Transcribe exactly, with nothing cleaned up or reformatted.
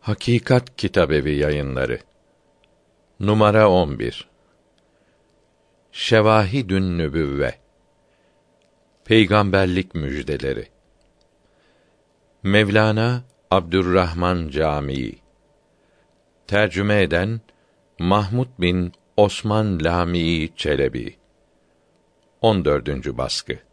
Hakikat Kitabevi Yayınları. Numara on bir. Şevahidün Nübüvve. Peygamberlik müjdeleri. Mevlana Abdurrahman Camii. Tercüme eden Mahmud bin Osman Lamii Çelebi. on dördüncü baskı.